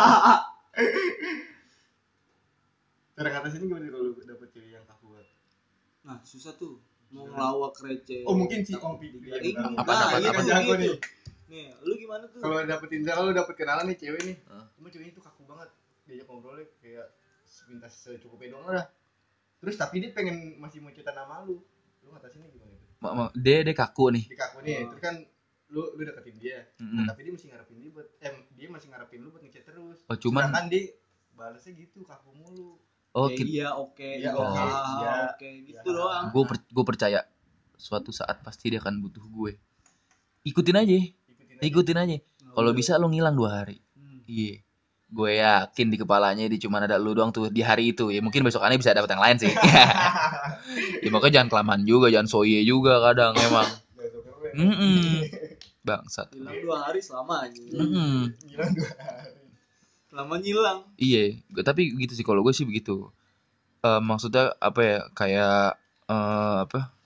Cara ngatasinnya gimana kalau lu dapet cewek yang kaku banget? Nah susah tuh. Mau ngelawak receh. Oh mungkin si Om Fikri Iya, yang apa- nah, apa- ini apa- kan jago nih. Nih, lu gimana tuh? Kalau dapetin kalau lu dapet kenalan nih cewek nih, Hah? cuma ceweknya tuh kaku banget. Diajak ngobrolnya kayak minta secukupnya doang lah. Terus tapi dia pengen masih mau cerita nama lu. Lu ngatasinnya gimana itu? Ma- ma- Dia dia kaku nih. Di kaku nih, Oh. terus kan lu lu deketin dia. Mm-mm. Nah, tapi dia masih ngarepin dia buat eh dia masih ngarepin lu buat ngechat terus. Oh, cuman- Sedangkan dia balasnya gitu kaku mulu. Oh, Kayak kita, iya oke. Iya, oke, Ah, iya. oke gitu Iya. doang. gue per, gue percaya suatu saat pasti dia akan butuh gue. Ikutin aja, Ikutin aja. ikutin aja. Kalau Udah. bisa lo ngilang dua hari. Hmm. Iya. Gue yakin di kepalanya dia cuma ada lu doang tuh di hari itu. Ya mungkin besokannya bisa dapat yang lain sih. Ya makanya jangan kelamaan juga, jangan soye juga kadang emang. Gak suka gue. Mm-mm. Bangsat. Hilang dua hari selama aja. Mm-mm. Gila dua hari. Selama nyilang. Iya, Gua- tapi gitu sih kalau gue sih begitu. Eh, maksudnya apa ya? Kayak eh, apa?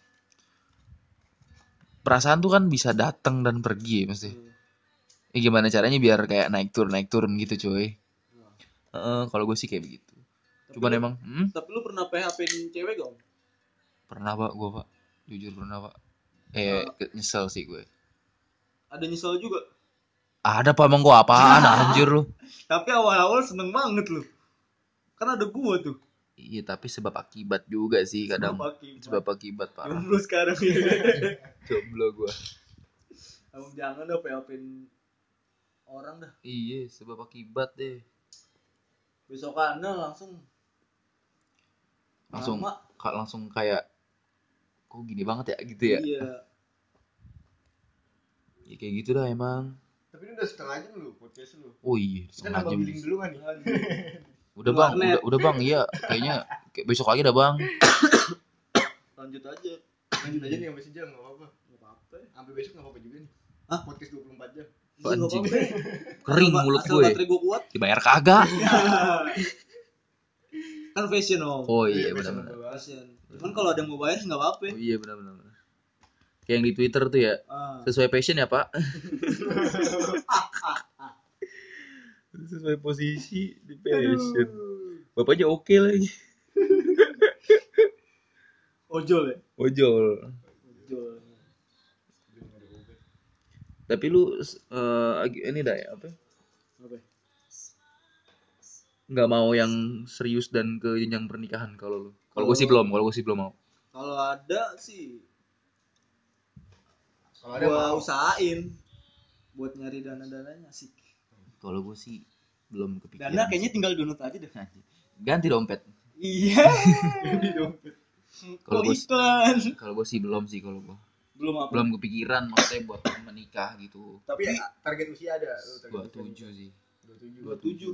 Perasaan tuh kan bisa datang dan pergi ya pasti. Hmm. Ya, gimana caranya biar kayak naik turun naik turun gitu cuy. Heeh, kalau gue sih kayak begitu. Tapi Cuman lu- emang hmm, Tapi lu pernah P H P-in cewek gak? Om? pernah pak gue pak, jujur pernah pak. Eh ke- nyesel sih gue. Ada nyesel juga. Ada pak emang gue apaan anjir lu. Tapi awal-awal seneng banget lu. Kan ada gua tuh. Iya tapi sebab akibat juga sih kadang. Sebab akibat. Sebab akibat parah. Jomblo sekarang ini. Jomblo gue. Abang jangan dah P H P-in orang dah. Iya sebab akibat deh. Besokannya langsung Langsung lama. kak langsung kayak kok gini banget ya gitu ya. Iya. Ya kayak gitu dah emang. Tapi ini udah setengah jam lu podcast lu. Oh iya, Kita setengah nambah jam. billing dulu kan nih. Udah bang, Warnet. udah, udah bang, iya. Kayaknya kayak besok lagi dah bang. Lanjut aja. Lanjut aja nih sampai sejam enggak apa-apa. Enggak apa-apa. Sampai besok enggak apa-apa juga nih. Hah? Podcast dua puluh empat jam. Iya, nggak Anjing. apa-apa. Kering Asal- mulut asal gue. baterai gue kuat. Dibayar kagak. Kan fashion om. Oh iya Iya, benar-benar. Fashion. Cuman kalau ada yang mau bayar nggak apa-apa. Oh iya benar-benar. Kayak yang di Twitter tuh ya. Ah. Sesuai passion ya pak. Sesuai posisi di passion. Bapaknya oke lagi. Ojol ya. Ojol. Ojol. Tapi lu eh, ag- ini dah ya apa? Apa? Nggak mau yang serius dan ke jenjang pernikahan kalau lu. Kalau gue sih belum. Kalau gue sih belum mau. Kalau ada sih Kalau ada gua mau. usahain buat nyari dana-dananya sih. Kalau gue sih belum kepikiran. Dana kayaknya tinggal download aja deh. Ganti dompet. Iya. Kalau Kok gua- iklan? Kalau gue sih belum sih kalau gue. Belum apa? Belum kepikiran maksudnya buat menikah gitu. Tapi ya, target usia ada lu target Dua usia. tujuh sih. dua puluh tujuh. Dua tujuh.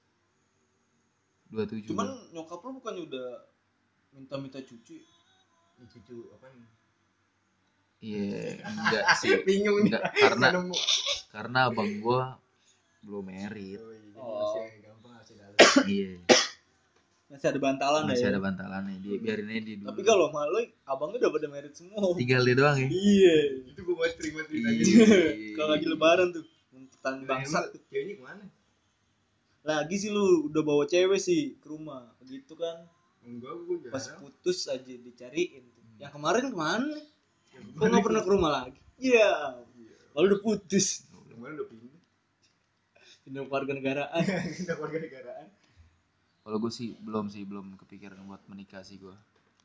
Dua tujuh. Cuman nyokap lu bukannya udah minta-minta cucu? Ini cucu apa nih? Iya enggak sih. Bingung nih. Enggak karena Nggak nemu. karena abang gue belum married. Oh, iya, jadi Oh. masih gampang masih dalam. Iya. Masih ada bantalan Masih ya. ada bantalannya. Dia biarin aja dia dulu. Tapi kalau malu abangnya udah pada merit semua. tinggal dia doang ya. Iya. Itu gua mau terima ceritanya. Iya. Kalau lagi lebaran tuh, pertanyaan bangsa tuh. Ceweknya kemana? Lagi sih lu udah bawa cewek sih ke rumah. Begitu kan. Enggak, gua Pas jarang. putus aja dicariin tuh. Yang kemarin kemana? Yang Kok nggak pernah ke rumah lagi? Iya. Lalu udah putus. Kemarin udah pindah. Pindah warga negaraan. Pindah warga negaraan. Kalau gue sih belum sih belum kepikiran buat menikah sih gue.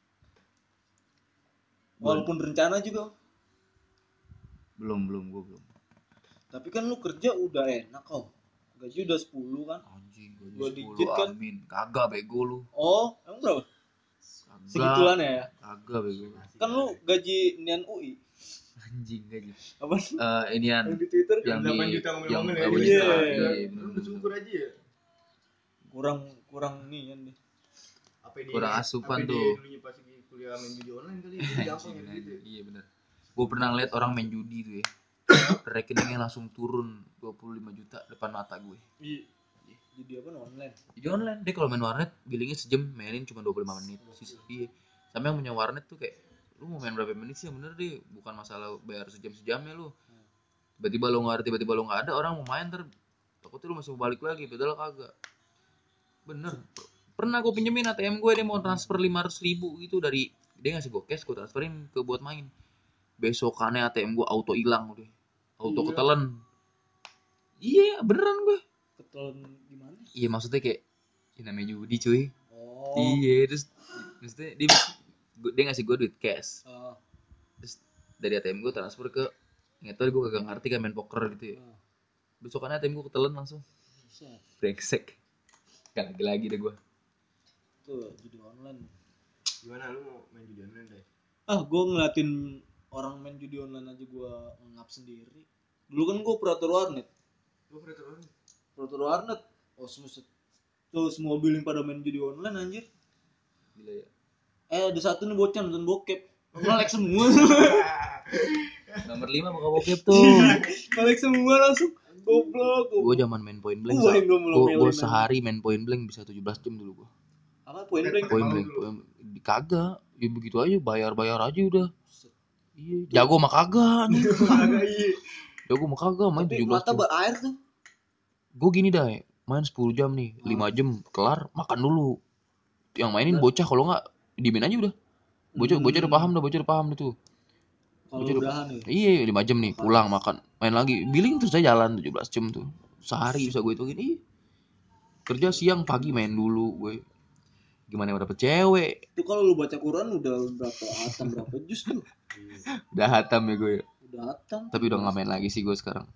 Walaupun rencana juga. Belum belum gue belum. Tapi kan lu kerja udah enak kok. Gaji udah sepuluh kan. Anjing Dua gue digit kan? amin. Kagak bego lu. Oh, emang berapa? Kagak. Segituan ya? Kagak bego. Kan lu gaji Nian U I. Anjing gaji. Apa? Eh inian Yang di Twitter yang di delapan juta yang ngomel-ngomel ya. delapan Iya. juta. Iya. Iya, Lu bener, bersyukur aja ya. kurang kurang nih kan nih. Apa dia? Kurang asupan apa tuh. Dia dulunya pas lagi kuliah main judi online kali. Jadi gampang ya Anjing, gitu. iya bener. Gue pernah ngeliat orang main judi tuh ya. Rekeningnya langsung turun dua puluh lima juta depan mata gue. Iya. Jadi apa online? Jadi online dia kalau main warnet billingnya sejam mainin cuma dua puluh lima menit. Sis- Iya. Sama yang punya warnet tuh kayak lu mau main berapa menit sih yang bener deh, bukan masalah bayar sejam-sejamnya lu. Tiba-tiba lu nggak ada, tiba-tiba lu nggak ada, orang mau main ter takutnya lu masih mau balik lagi, padahal kagak. Bener. Pernah gue pinjemin A T M gue, dia mau transfer lima ratus ribu gitu dari dia ngasih gue cash, gue transferin ke buat main. Besokannya A T M gue auto hilang udah. Auto Iya. ketelen. Iya, beneran gue. Ketelan gimana? Iya maksudnya kayak ya namanya judi cuy. Oh. Iya terus maksudnya dia gua- dia ngasih gue duit cash. Oh. Terus dari A T M gue transfer ke nggak tahu gue kagak ngerti kan main poker gitu ya. Oh. Besokannya A T M gue ketelen langsung. Buset. Brengsek. Gak lagi lagi deh gue. Tuh, judi online. Gimana lu mau main judi online deh? Ah, gue ngeliatin orang main judi online aja gue ngap sendiri. Dulu kan gue operator warnet. Lu operator online? Operator warnet. Oh, semua tuh semua billing pada main judi online anjir. Gila ya. Eh, ada satu nih bocah nonton bokep. Nge-like semua. Nomor lima buka bokep tuh. Nge-like semua langsung. Goblok. Gue zaman main point blank. Gua yang belum Gue melomel gue sehari main point blank bisa tujuh belas jam dulu gue. Apa point blank? Point Mau blank. dulu. point- Kagak. Ya begitu aja bayar-bayar aja udah. Iya. Jago mah kagak. nih. Agak iya. Jago mah kagak main Tapi tujuh belas mata jam. berair tuh. Gue gini dah, main sepuluh jam nih, lima jam kelar, makan dulu. Yang mainin bocah kalau nggak dimin aja udah. Bocah bocah udah paham dah, bocah udah paham dah tuh. Kalau Bocah udah udahan ya. Iya, lima jam nih, pulang makan, main lagi. Billing terus saya jalan tujuh belas jam tuh. Sehari bisa gue hitungin. Ih. Kerja siang, pagi main dulu gue. Gimana mau dapet cewek? Itu kalau lu baca Quran udah berapa hatam berapa juz tuh? Udah hatam ya gue. Udah hatam. Tapi udah nggak main lagi sih gue sekarang.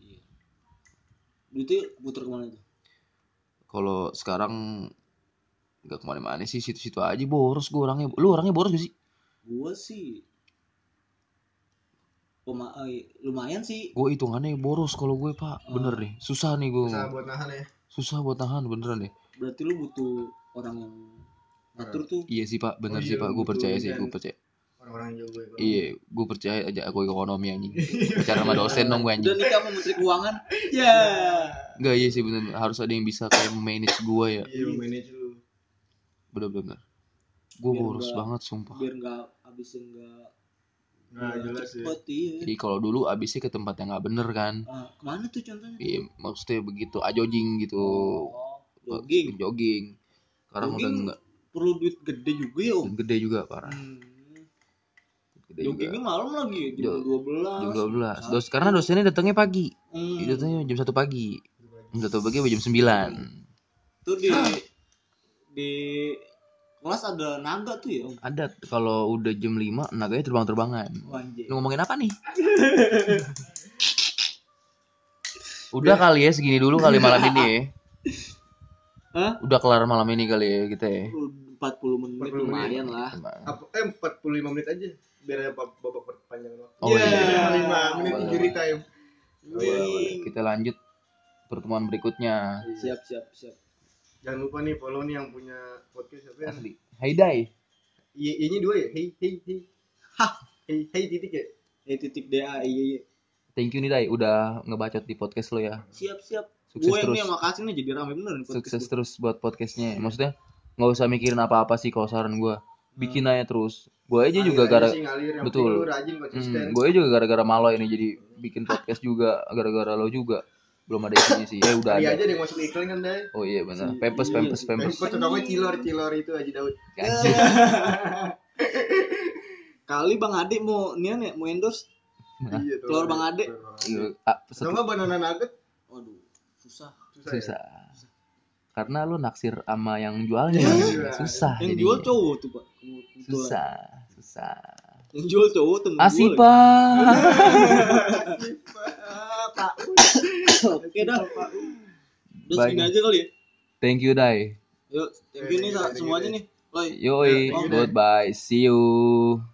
Duitnya puter kemana tuh? Kalau sekarang nggak kemana-mana sih, situ-situ aja boros gue orangnya. Lu orangnya boros gak sih? Gua sih Pema- eh, lumayan sih. Gue hitungannya boros kalau gue pak, bener nih, susah nih gue, Susah buat nahan ya. susah buat tahan beneran deh. Berarti lu butuh orang yang ngatur tuh. Iya sih pak, bener Oh sih iya, pak, gue betul, percaya ini sih, kan. gue percaya. Orang-orang yang jago ekonomi. Iya, gue percaya aja aku ekonomi anjing. Bicara sama dosen dong gue Udah anjing. nikah sama menteri keuangan. Ya. Enggak, iya sih bener, harus ada yang bisa kayak manage gue ya. Iya, manage lu. Bener-bener. Gue Biar boros nggak- banget sumpah. Biar enggak habisin enggak Nah, jelas ya. cepet iya. Jadi kalau dulu abisnya ke tempat yang nggak bener kan. Ah, kemana tuh contohnya? Iya, maksudnya begitu ajojing gitu. Oh, jogging. Jogging. Sekarang udah Jogging enggak. perlu duit gede juga ya om. Dan gede juga parah. Hmm. Gede Joggingnya juga. malam lagi jam Jo- dua belas. Jam dua belas. Dos karena dosennya datangnya pagi. Hmm. Datangnya jam satu pagi. Jam satu pagi sampai jam sembilan. Tuh di di kelas ada naga tuh ya om. Ada kalau udah jam lima naganya terbang-terbangan. Wanjir. Lu ngomongin apa nih? Udah kali ya segini dulu kali malam ini ya. Hah? Udah kelar malam ini kali ya kita ya. empat puluh menit empat puluh lumayan lah. Apa eh empat puluh lima menit aja biar ada bab- babak perpanjangan waktu. Oh, iya. lima menit Boleh, injury boleh. time. Wih. Kita lanjut pertemuan berikutnya. Siap siap siap. Jangan lupa nih follow nih yang punya podcast apa ya? Asli. Hai Dai. Iya, iya dua ya. Hey hey hey. Hah. Hey hey titik ya. Eh titik D A iya iya. Thank you nih Dai udah ngebacot di podcast lo ya. Siap siap. Sukses Gue terus. nih makasih nih jadi rame bener nih podcast Sukses gua. terus buat podcastnya. Maksudnya nggak usah mikirin apa-apa sih kalau saran gue. Bikin aja terus. Gue aja juga gara Ngalir aja sih, ngalir. Yang betul. penting lu rajin konsisten. Hmm, gue juga gara-gara malo ini jadi bikin podcast juga gara-gara lo juga. Belum ada isinya sih. Eh udah Iya ada. aja deh masuk iklan kan deh. Oh iya benar. Si- Pempes iya, pempes si pempes. Kok tukangnya cilor cilor itu Haji Daud. Anjing. Kali Bang Ade mau nian ya mau endorse. Iya tuh. Telur Bang Ade. Iya, ah, peset- Sama banana nugget Waduh, susah. susah. ya? susah. Karena lu naksir sama yang jualnya. Iya. Susah. Yang jadinya. jual cowok tuh Pak. Kebetulan. Susah, susah. Yang jual cowok temen Asih, gue. Pak. Pak. Oke dah. Udah Baik. segini aja kali ya. Thank you, Dai. Yuk, thank you nih Thank you, semuanya nih. Bye. Yoi, Thank you, Dai. goodbye. See you.